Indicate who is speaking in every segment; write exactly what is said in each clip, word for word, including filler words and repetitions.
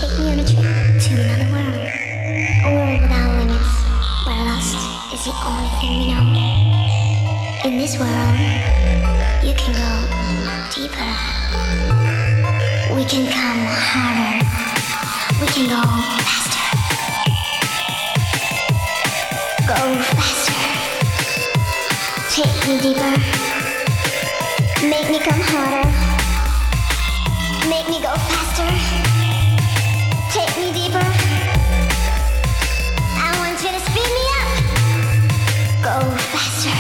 Speaker 1: Take me on a trip to another world. A world without limits, where lust is the only thing we know. In this world, you can go deeper. We can come harder. We can go faster. Go faster. Take me deeper. Make me come harder. Make me go faster. Take me deeper. I want you to speed me up. Go faster.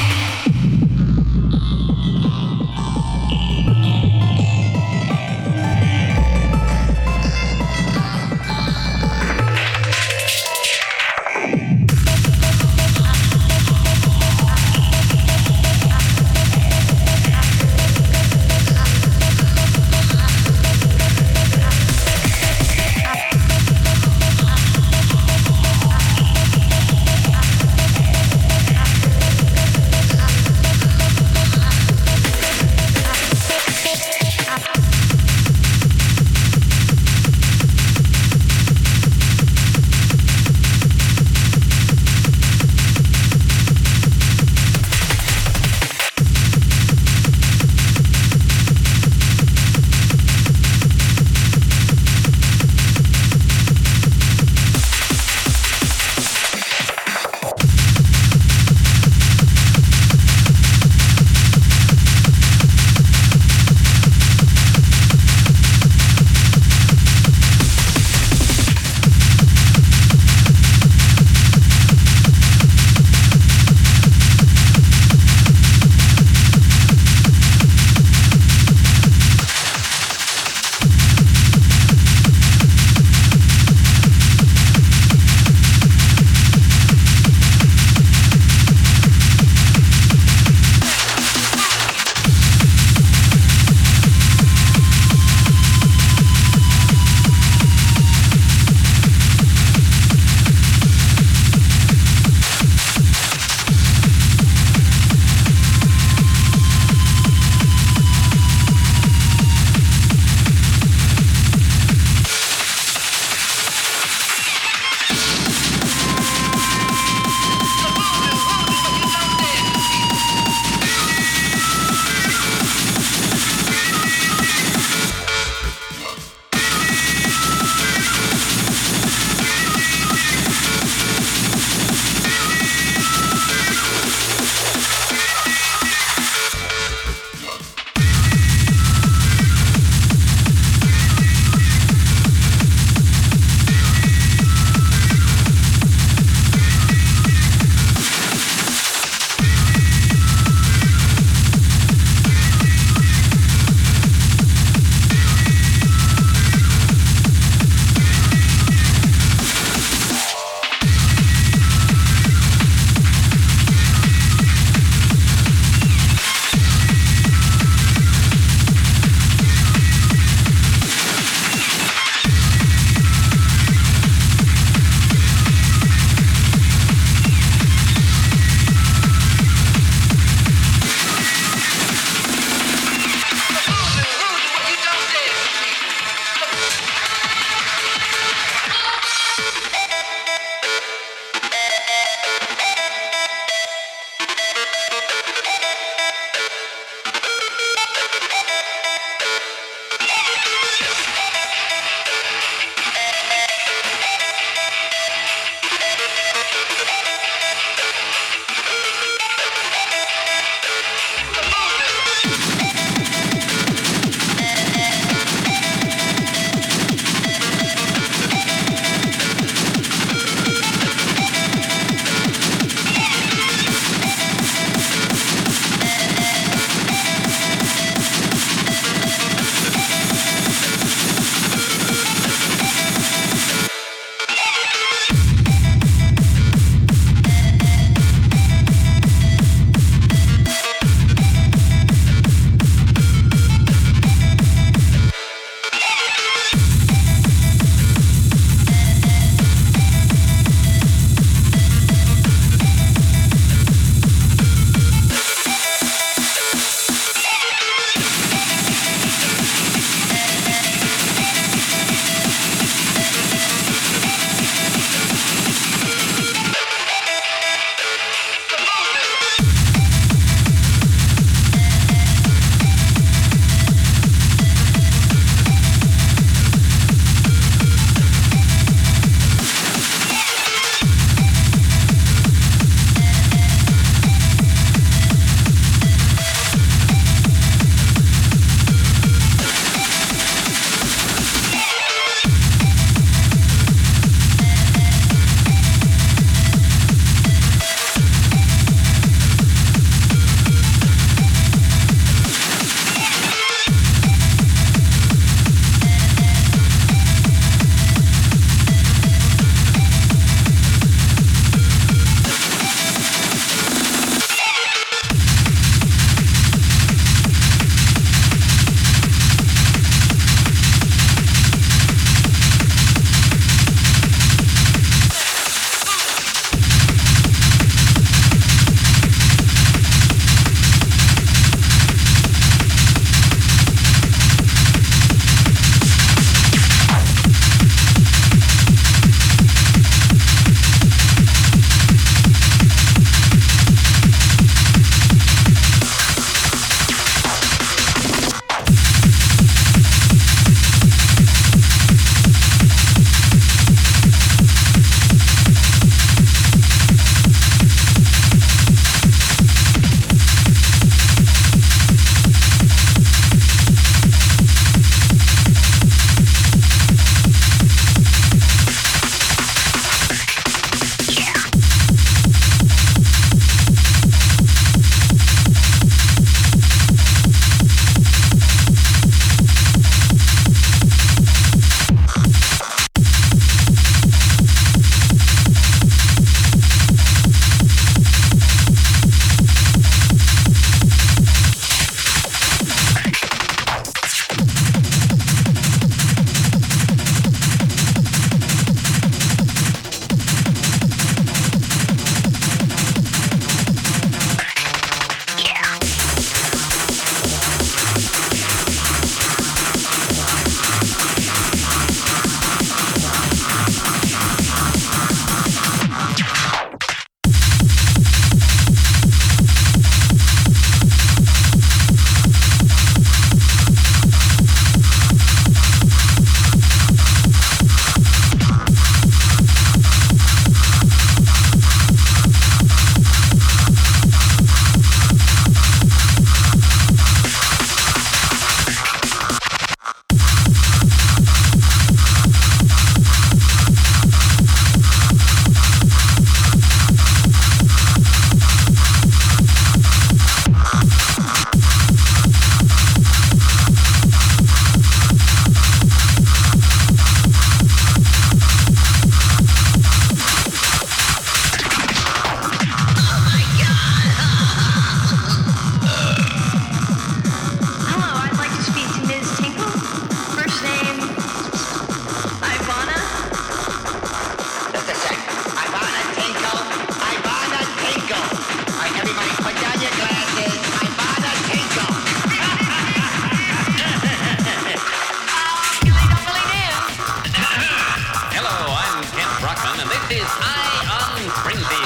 Speaker 2: This is High on Springfield.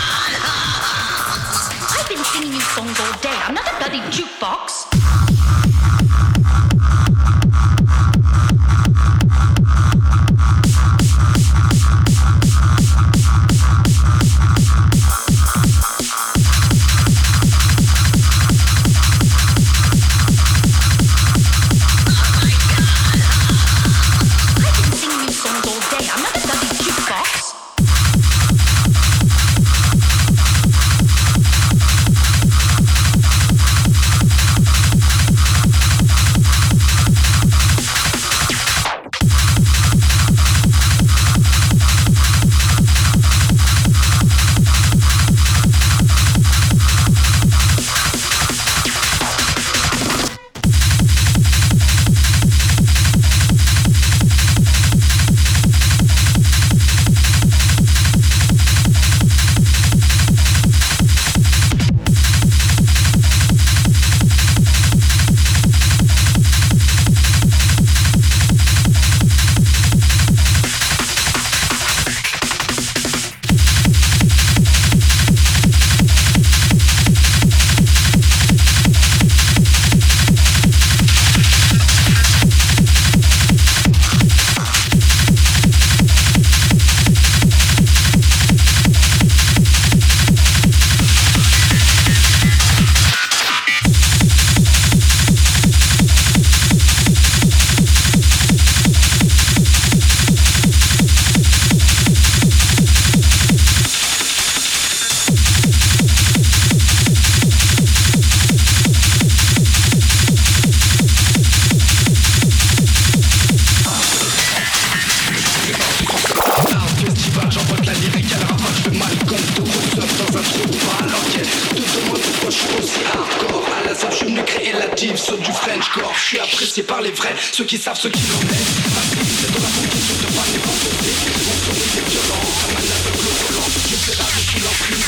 Speaker 3: I've been singing you songs all day. I'm not a bloody jukebox.
Speaker 4: Ceux qui savent ce qu'il en est. Ma vie c'est dans la condition de pas n'est pas posée. Mon son est violent comme un aveugle au volant. Je fais la vie sous l'emprise.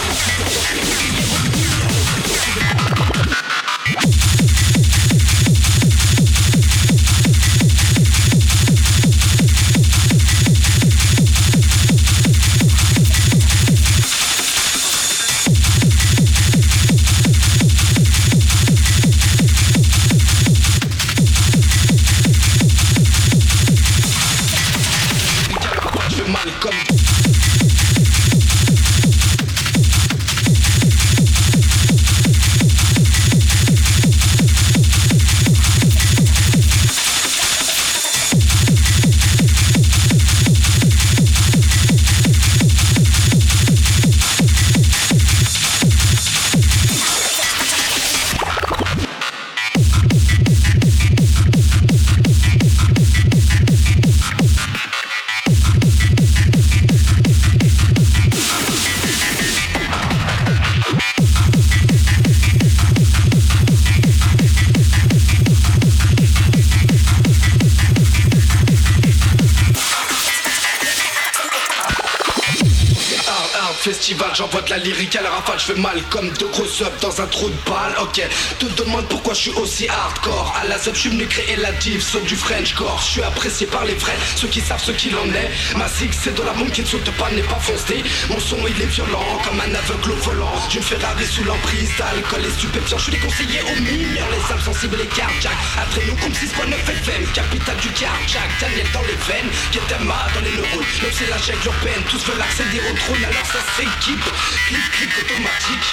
Speaker 4: Festival, j'envoie de la lyrique à la rafale, je fais mal comme deux gros subs dans un trou de balle. Ok, te demande pourquoi je suis aussi hardcore. À la sub, je suis venu créer la div, saut du Frenchcore. Je suis apprécié par les vrais, ceux qui savent ce qu'il en est. Ma zig, c'est de la bombe qui ne saute pas, n'est pas foncé. Mon son, il est violent, comme un aveugle au volant. D'une Ferrari sous l'emprise d'alcool et stupéfiants. Je suis déconseillé aux mineurs, les âmes sensibles et cardiaques. Après nous, comme six point neuf F M, capitale du cardiaque. Daniel dans les veines, Ketama dans les neurones. Même c'est la jungle urbaine, tous veulent accéder au trône, alors ça s'équipe. Clip, clip automatique.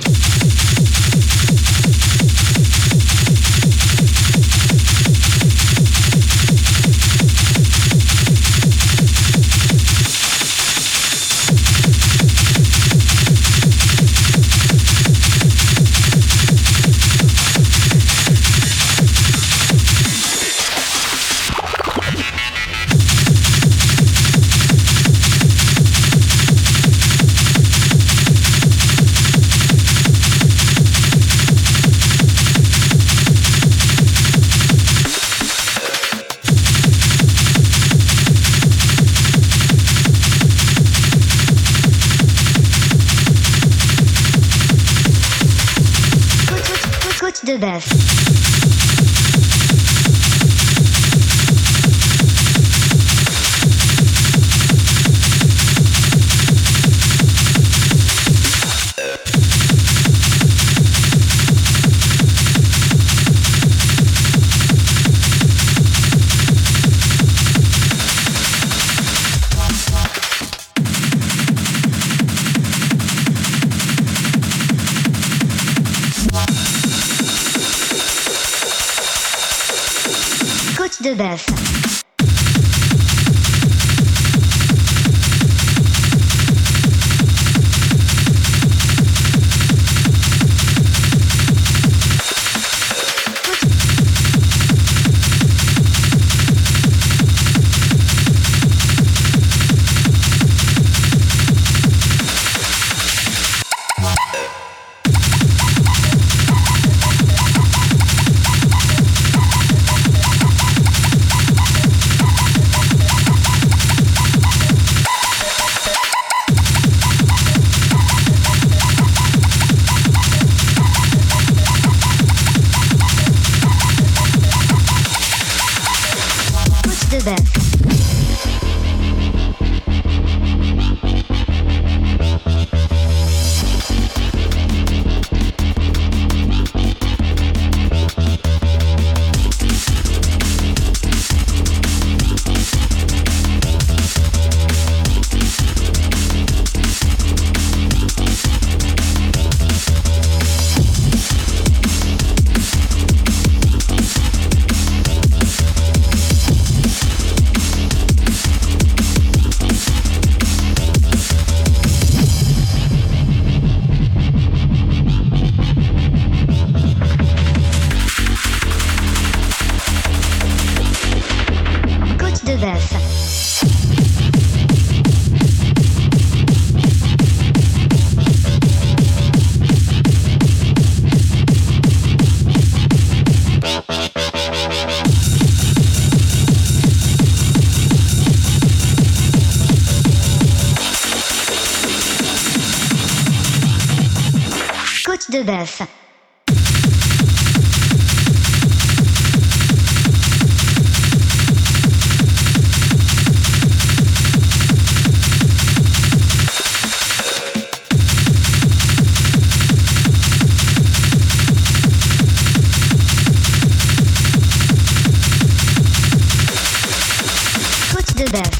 Speaker 1: de bœuf. De bœuf. De bœuf. Côte de bœuf.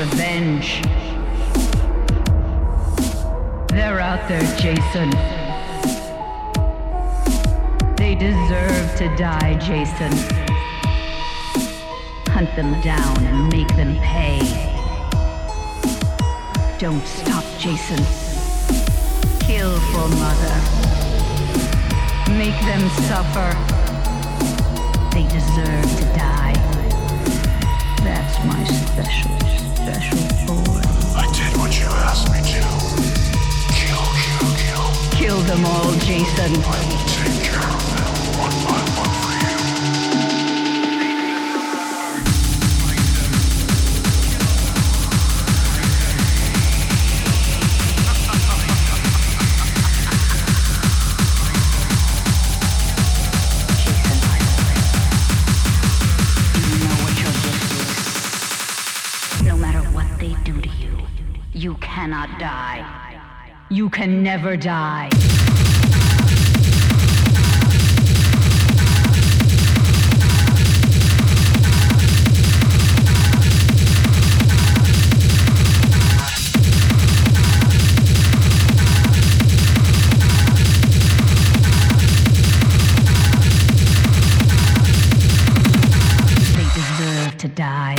Speaker 3: revenge. They're out there, Jason. They deserve to die, Jason. Hunt them down and make them pay. Don't stop, Jason. Kill for Mother. Make them suffer. They deserve to die. That's my special, special boy.
Speaker 5: I did what you asked me to. Kill, kill, kill.
Speaker 3: Kill them all, Jason.
Speaker 5: I will take care of them one by one for you.
Speaker 3: You cannot die. You can never die. They deserve to die.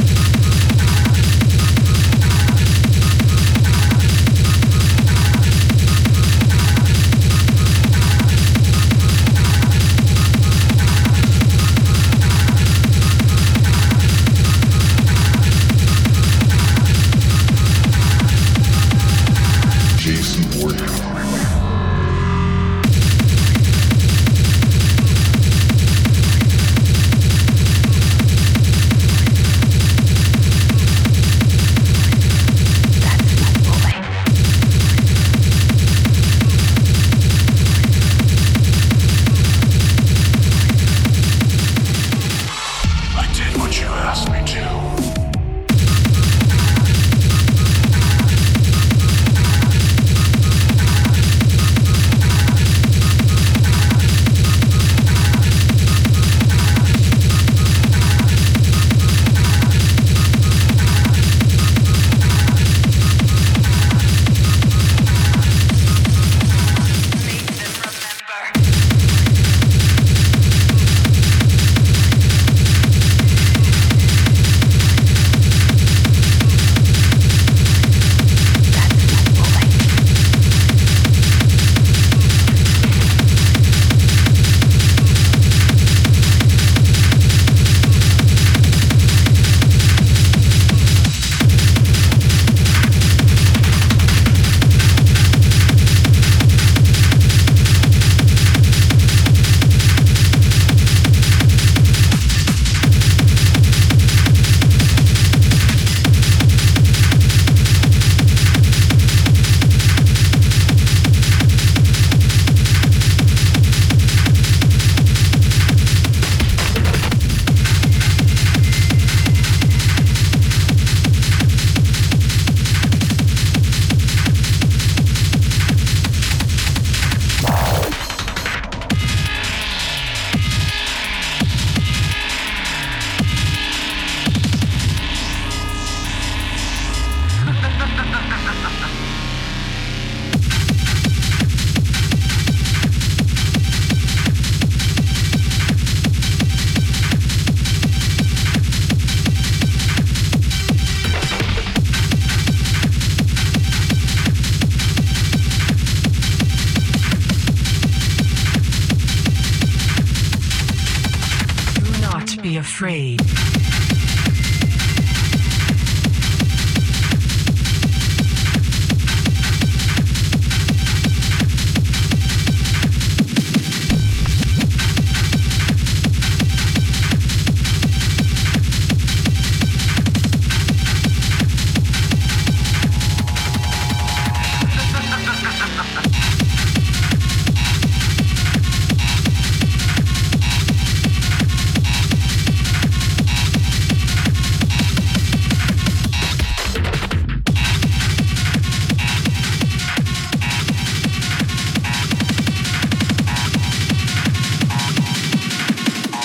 Speaker 6: Afraid.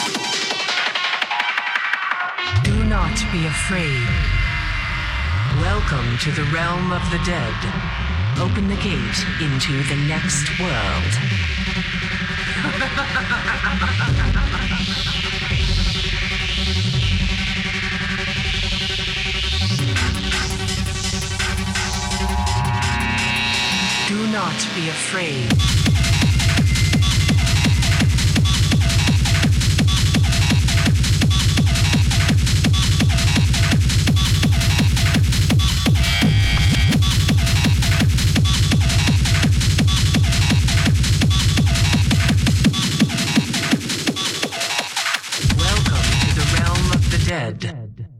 Speaker 6: Be afraid. Well Welcome to the realm of the dead. Open the gate into the next world. Do not be afraid. Dead.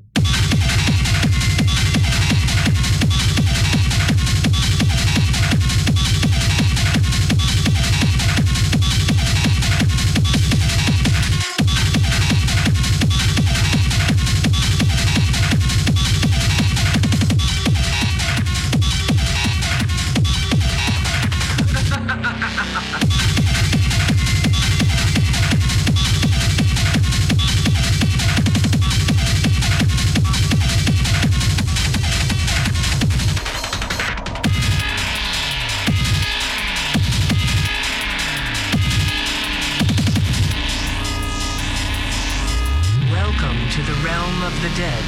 Speaker 6: To the realm of the dead.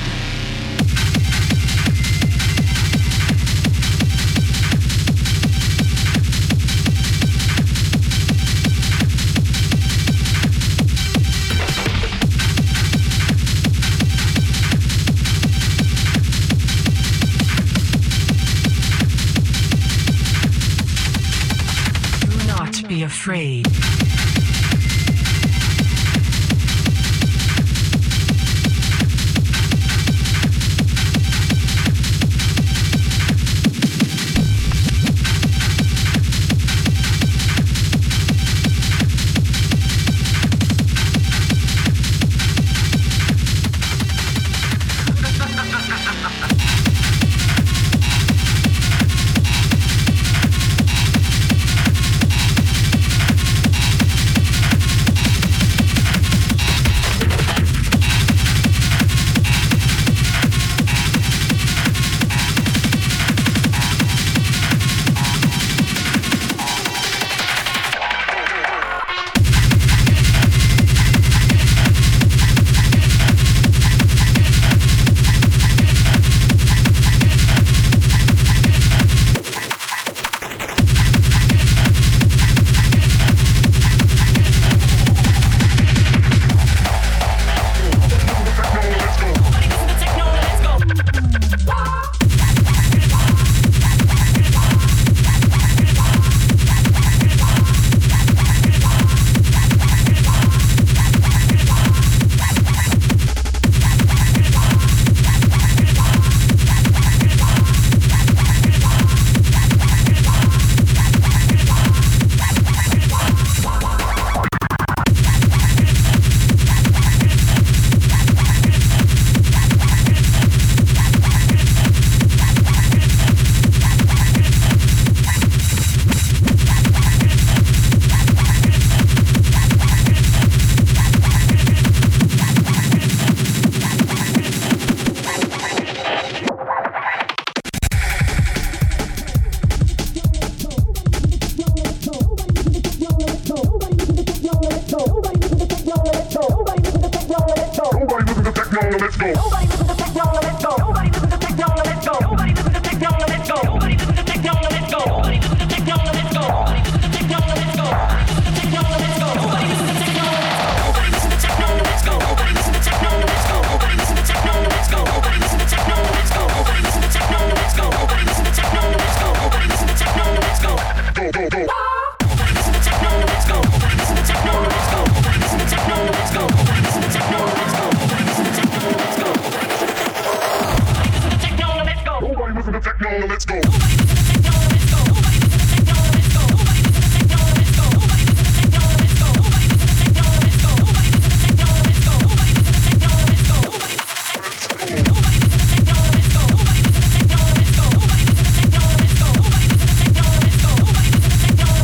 Speaker 6: Do not be afraid.
Speaker 7: Let's go.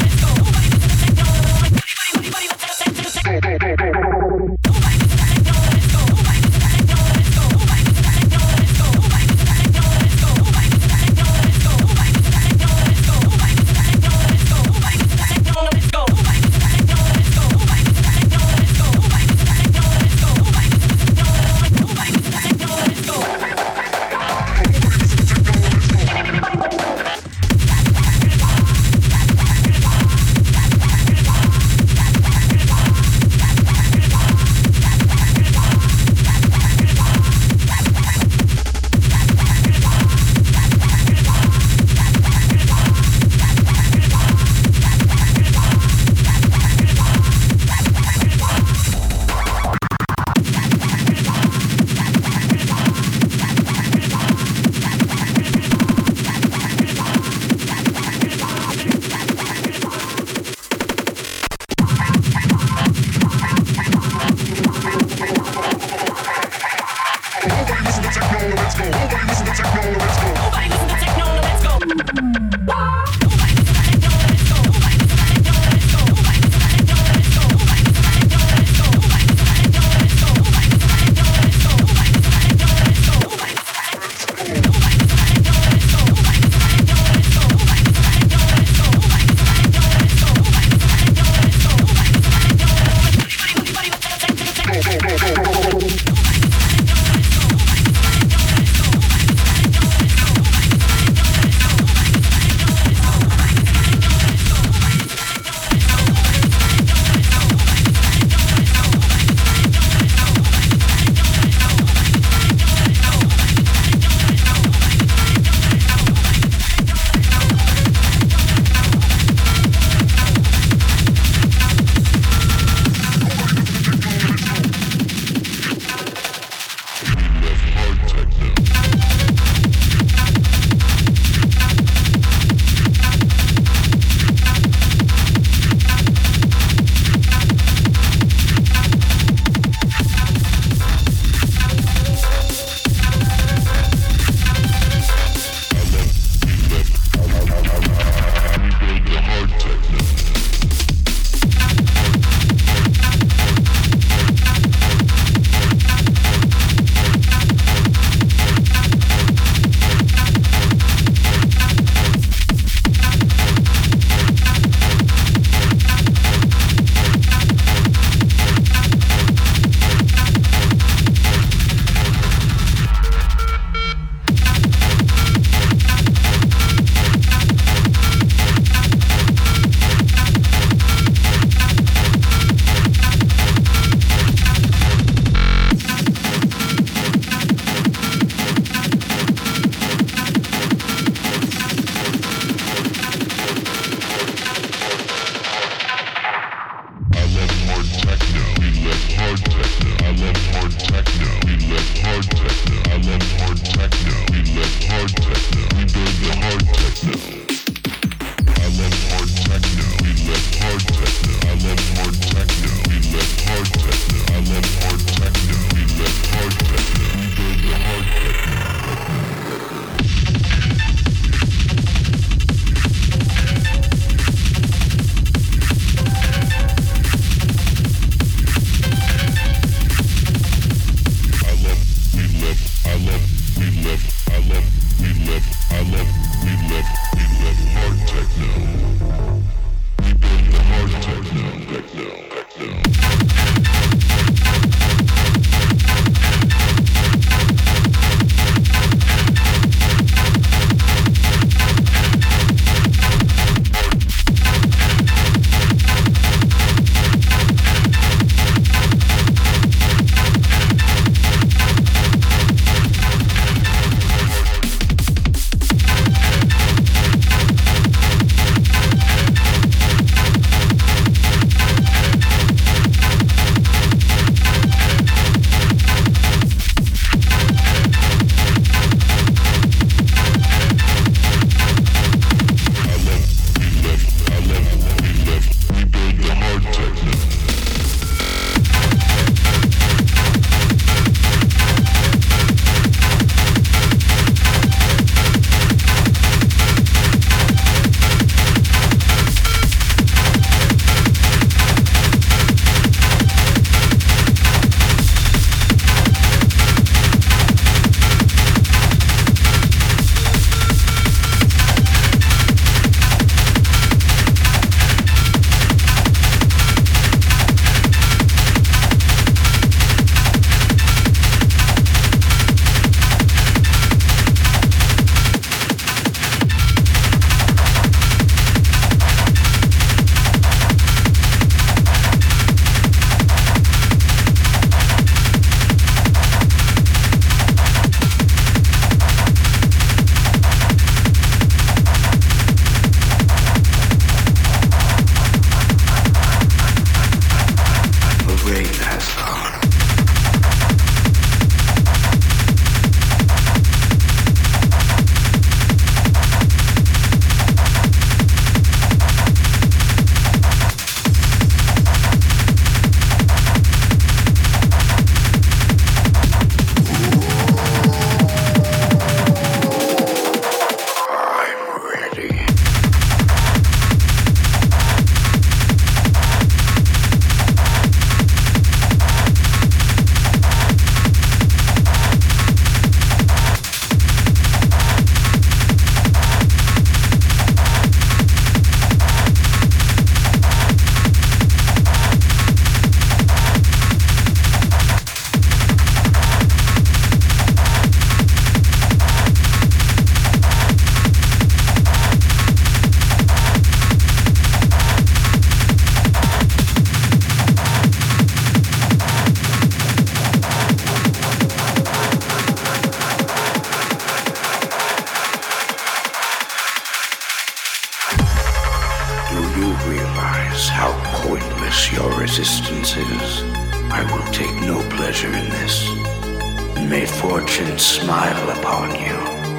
Speaker 5: realize how pointless your resistance is, I will take no pleasure in this. May fortune smile upon you.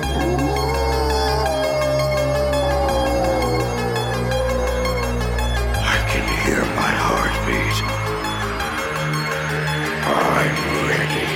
Speaker 5: I can hear my heartbeat. I'm ready.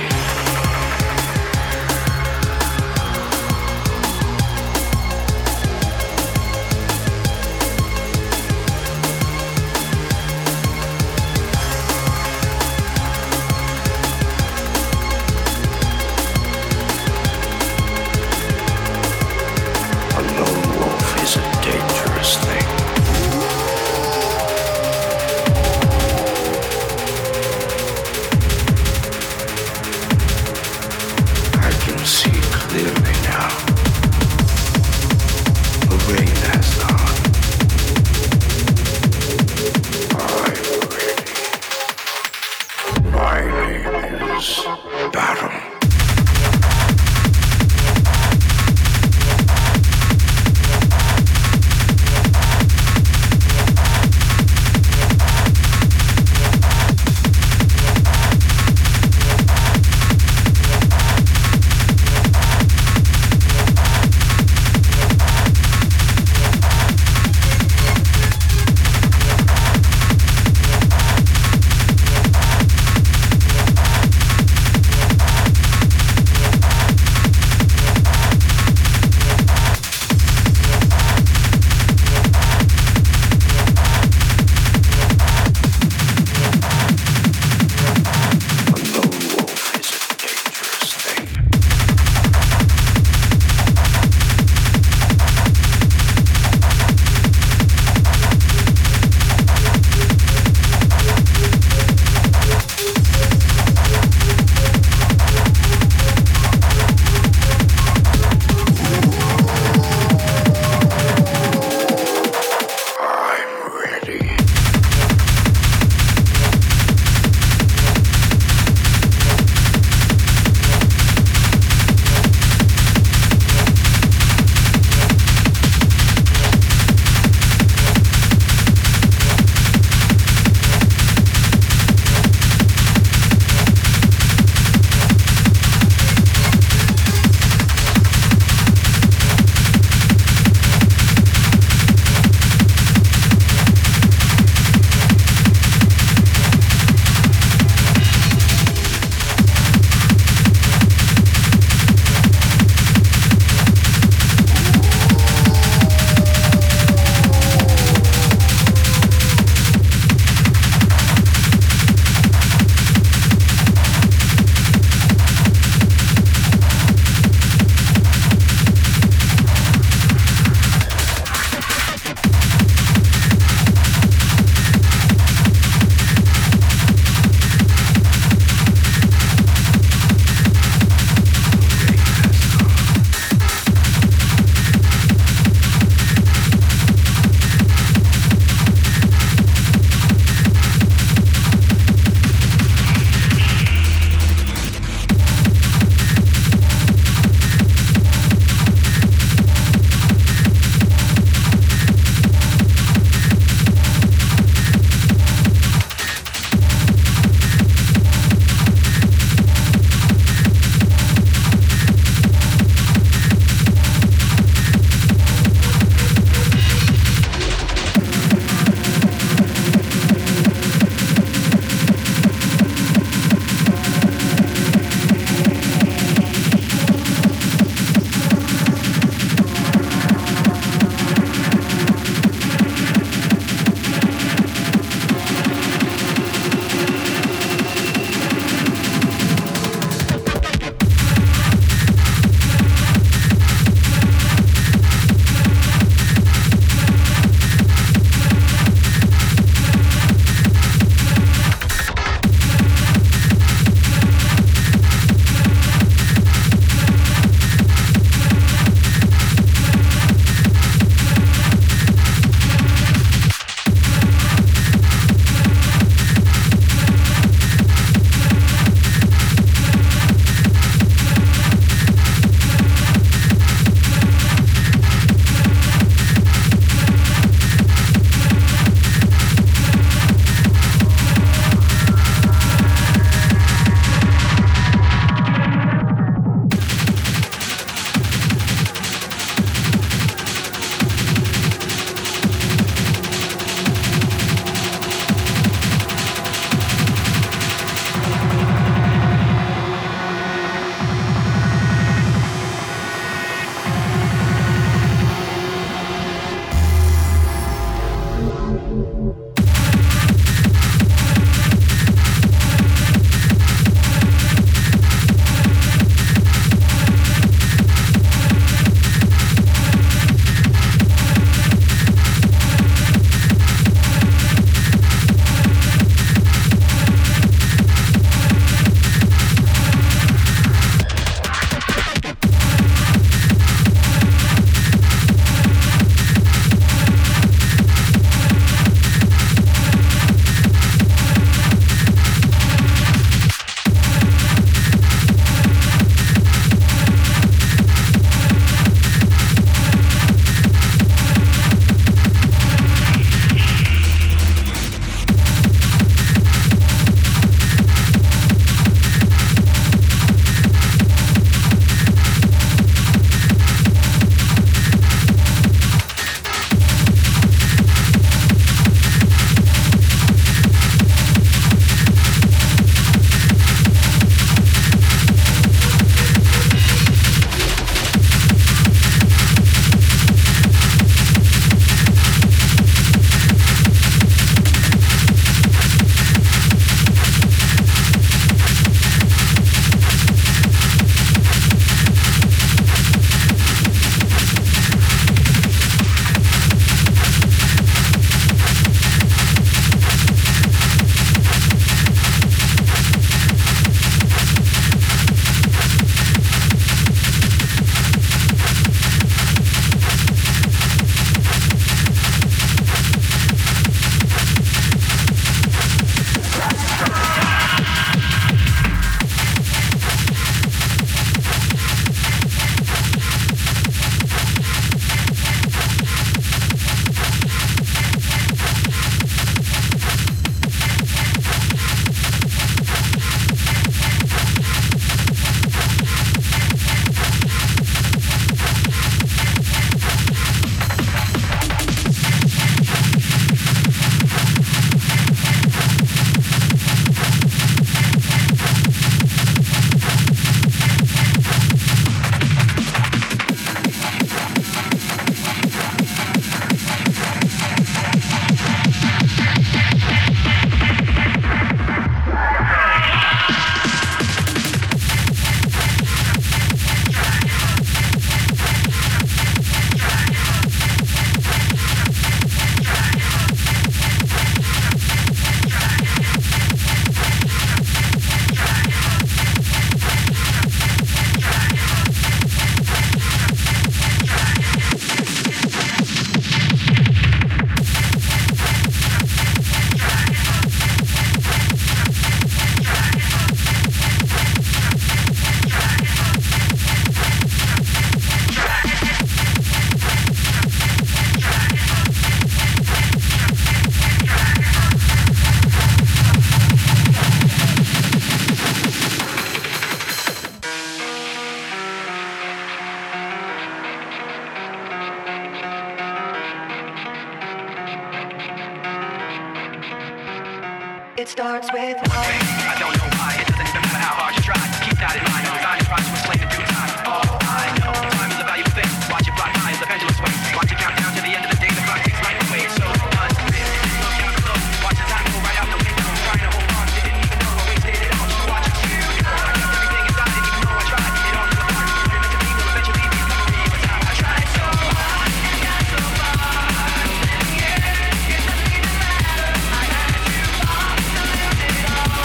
Speaker 7: It starts with one thing. I don't know why. It doesn't even matter how hard you try. Keep that in mind. I'm designing rhymes to explain in due time. All I know, time is a valuable thing. Watch it fly by as the pendulum sways. Watch it count down to the end of the day. The clock takes life away. So unreal. Look down below. Watch the time go right out the window. I'm trying to hold on. You didn't even know I wasted it all. Watch it you. I kept everything inside, and even though I tried, it all fell apart. What it meant to be will eventually be a memory. But how I tried so hard, got so far. Yeah, it doesn't even matter. I had to fall to lose it all.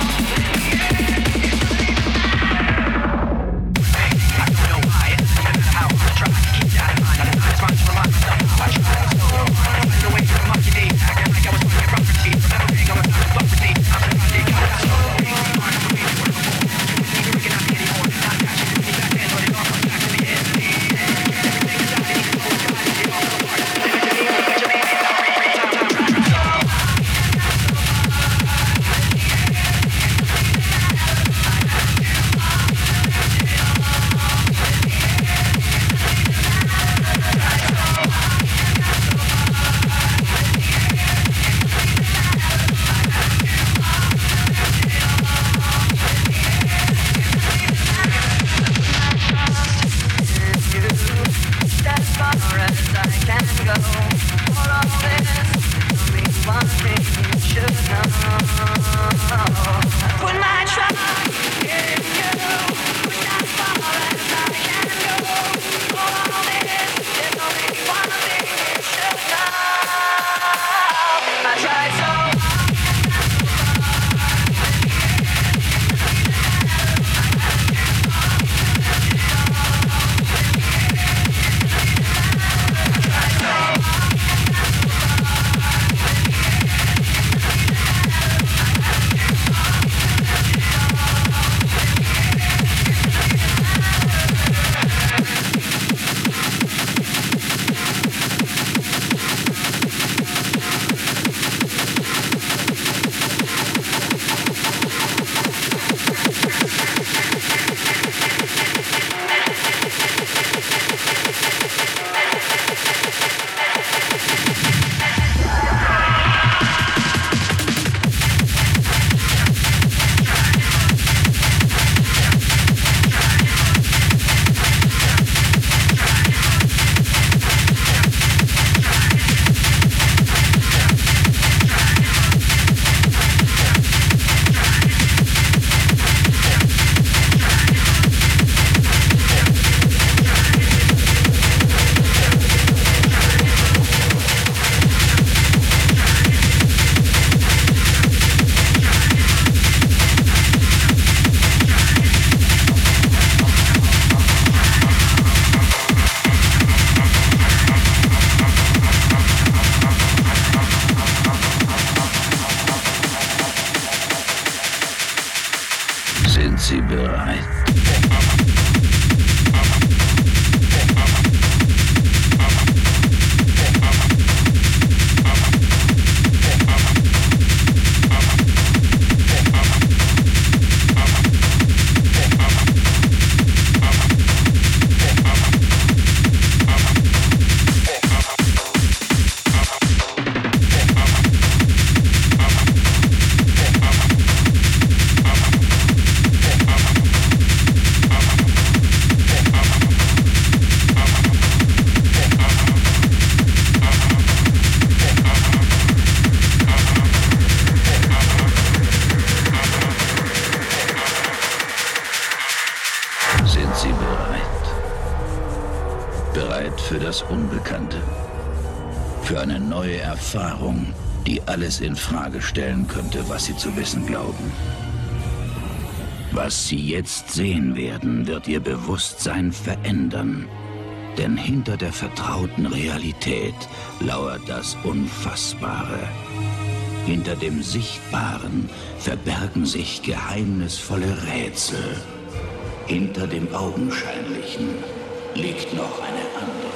Speaker 7: I don't know why. It doesn't matter how hard I try. Keep that in mind. I just want to remind myself how I tried so hard. Find a way to the monkey day. Acting like I was on your property. Remembering I was not property. I'm surprised it got that so easy. Hard to believe it was before. You was never looking at me anymore. Not catching me back then, but it all comes back to the end. Everything is out, and even though I tried, it all fell apart. Eventually, eventually, it's not free, free time, time, time, time. As far as I can go, for all this, only one thing you should know. Put my trust in you. As far as I can go, for all this, there's only one thing you should know. I tried so hard.
Speaker 5: Sind Sie bereit? Für das Unbekannte. Für eine neue Erfahrung, die alles in Frage stellen könnte, was Sie zu wissen glauben. Was Sie jetzt sehen werden, wird Ihr Bewusstsein verändern. Denn hinter der vertrauten Realität lauert das Unfassbare. Hinter dem Sichtbaren verbergen sich geheimnisvolle Rätsel. Hinter dem Augenscheinlichen liegt noch eine andere.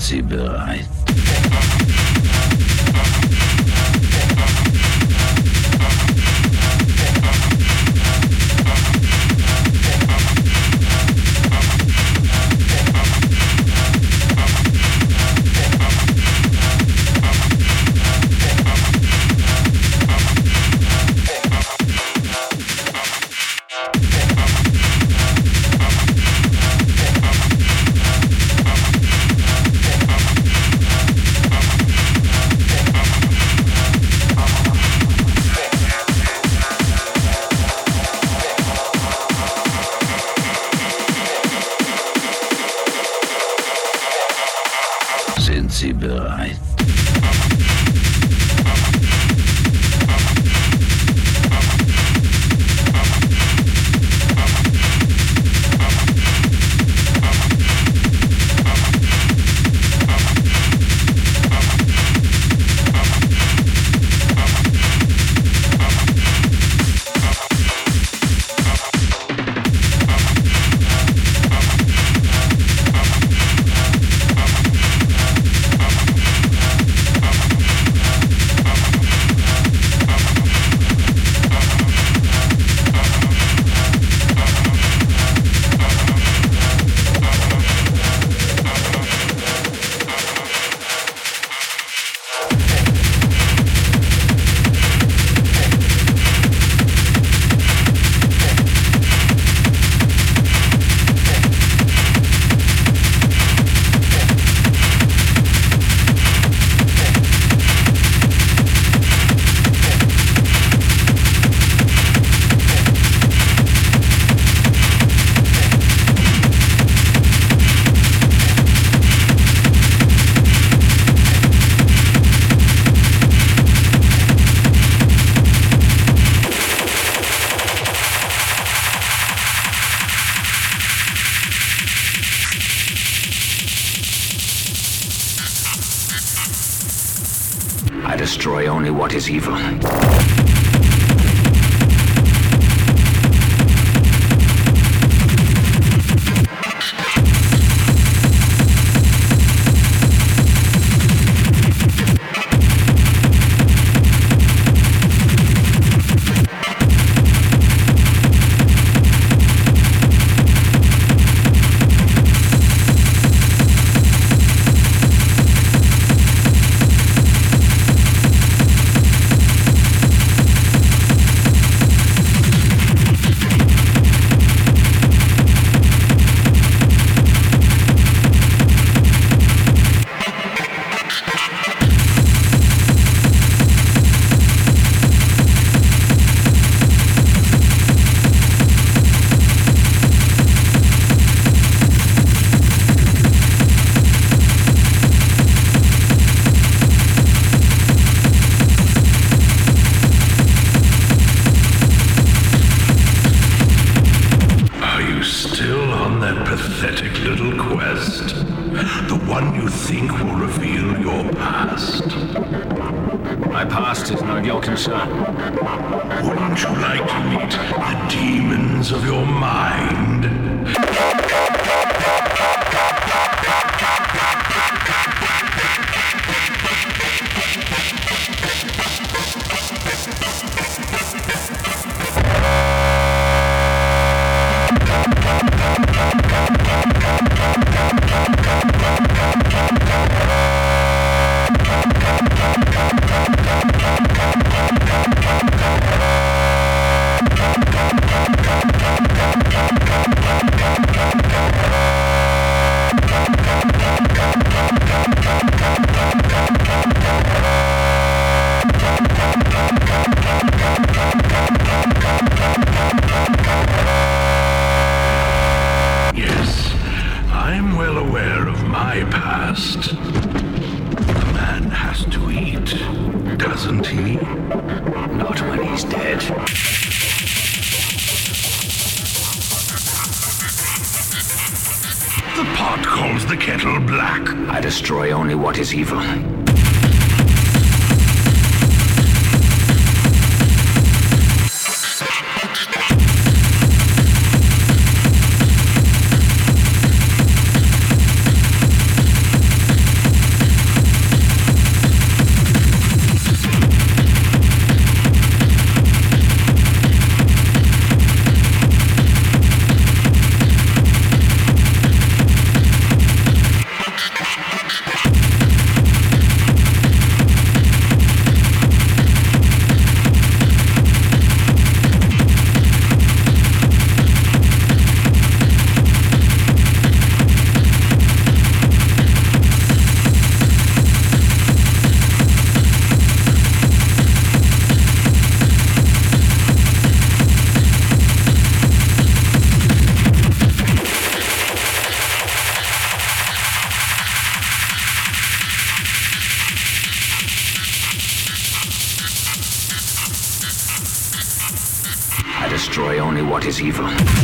Speaker 5: Sie bereit? Sind Sie bereit? I destroy only what is evil.
Speaker 8: My past is none of your concern.
Speaker 9: Wouldn't you like to meet the demons of your mind? Yes, I'm well aware of my past. A man has to eat, doesn't he?
Speaker 8: Not when he's dead.
Speaker 9: The pot calls the kettle black.
Speaker 8: I destroy only what is evil. destroy only what is evil.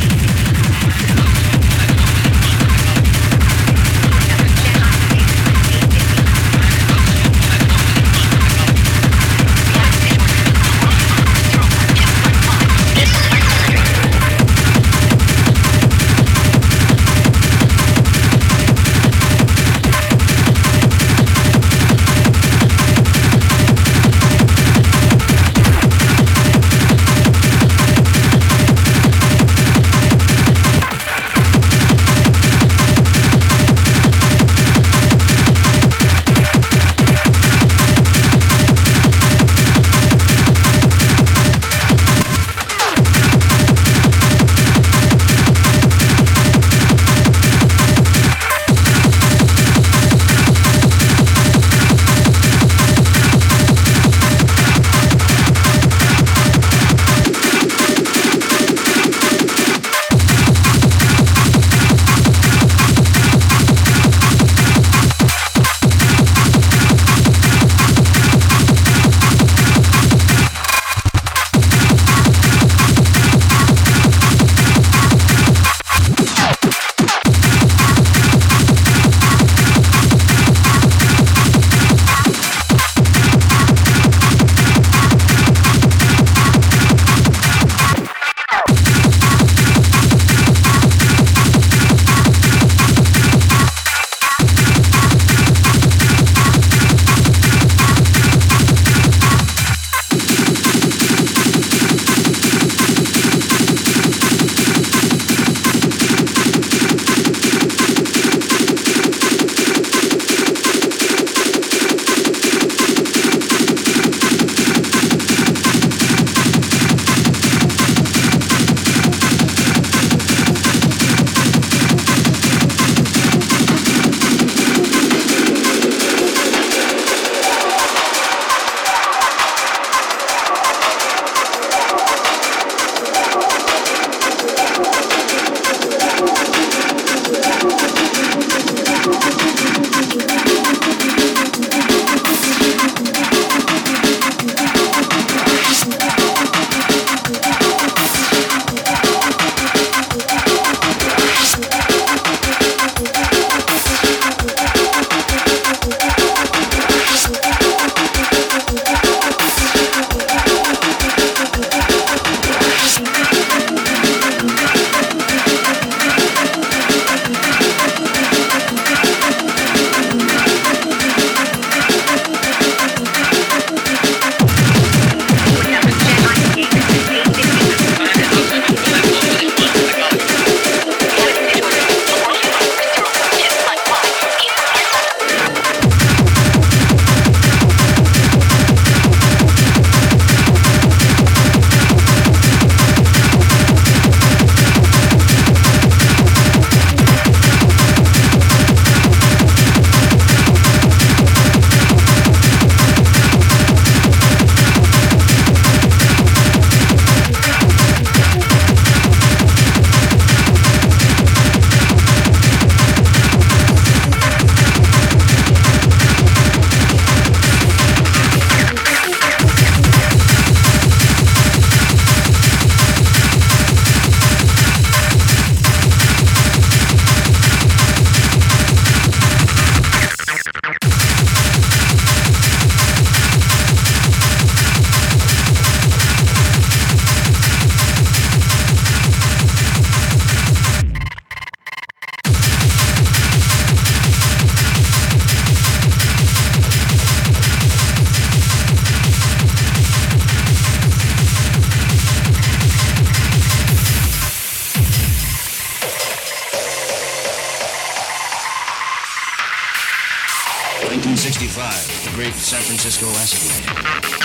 Speaker 10: nineteen sixty-five, the great San Francisco acid rain.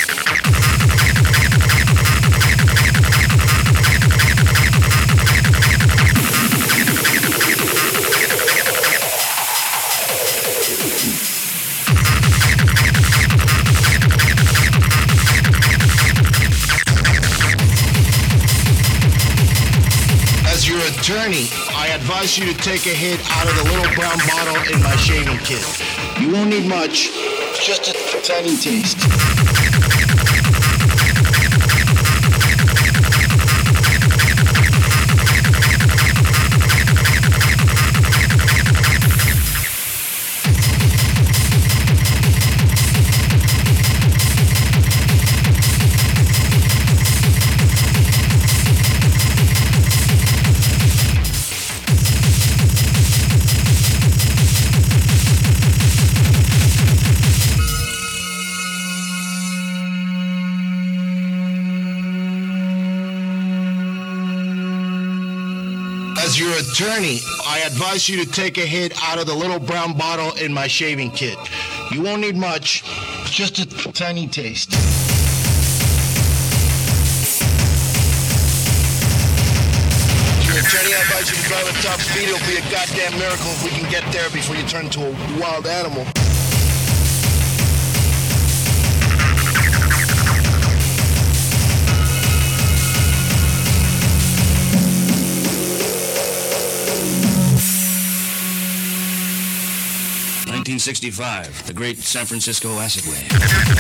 Speaker 11: As your attorney, I advise you to take a hit out of the little brown bottle in my shaving kit. You won't need much, just a tiny taste. attorney, I advise you to take a hit out of the little brown bottle in my shaving kit. You won't need much, just a tiny taste. Your attorney, I advise you to drive at top speed. It'll be a goddamn miracle if we can get there before you turn into a wild animal.
Speaker 10: nineteen sixty-five, the Great San Francisco Acid Wave.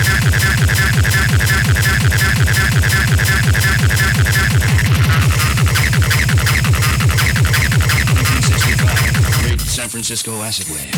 Speaker 10: nineteen sixty-five, the Great San Francisco Acid Wave.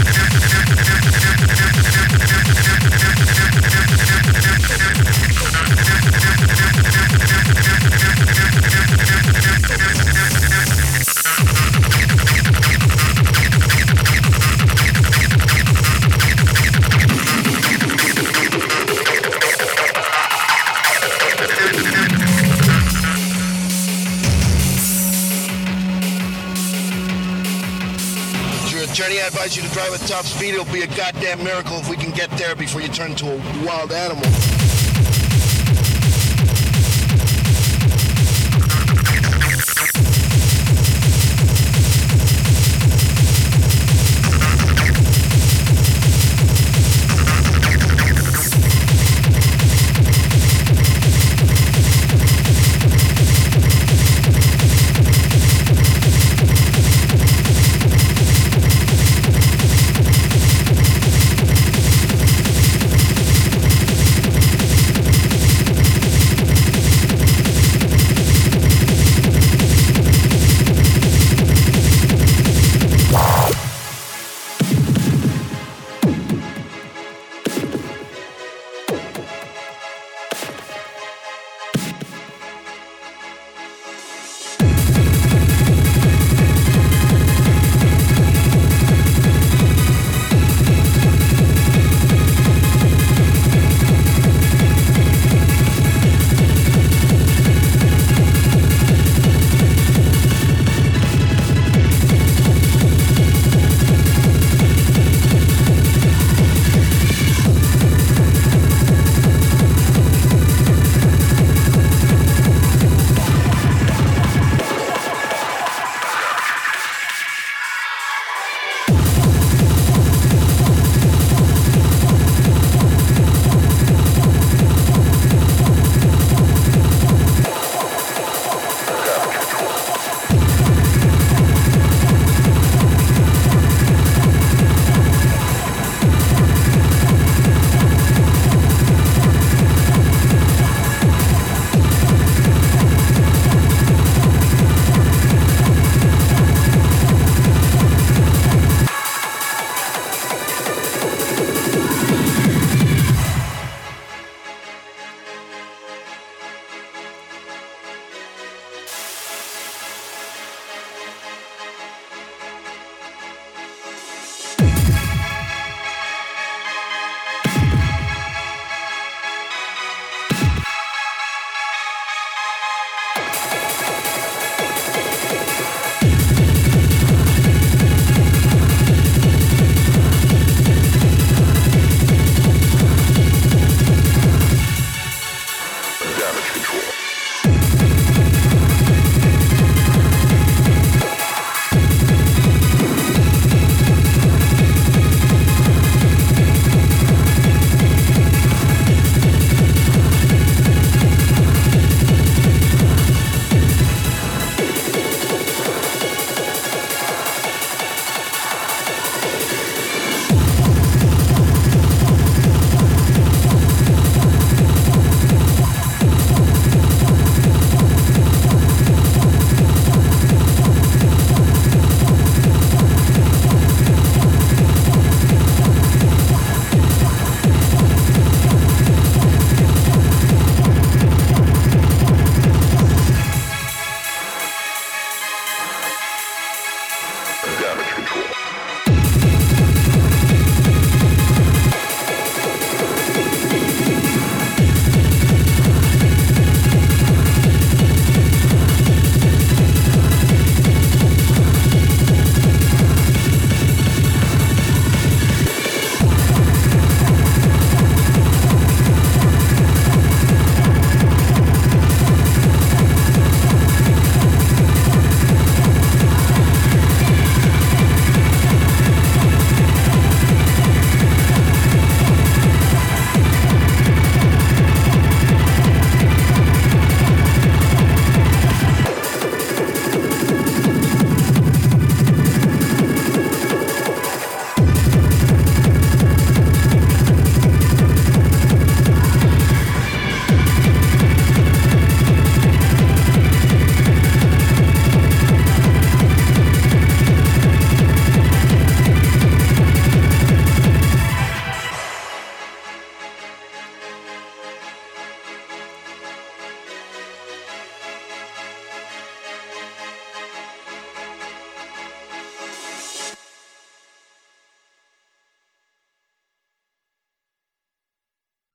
Speaker 11: Attorney, I advise you to drive at top speed. It'll be a goddamn miracle if we can get there before you turn into a wild animal.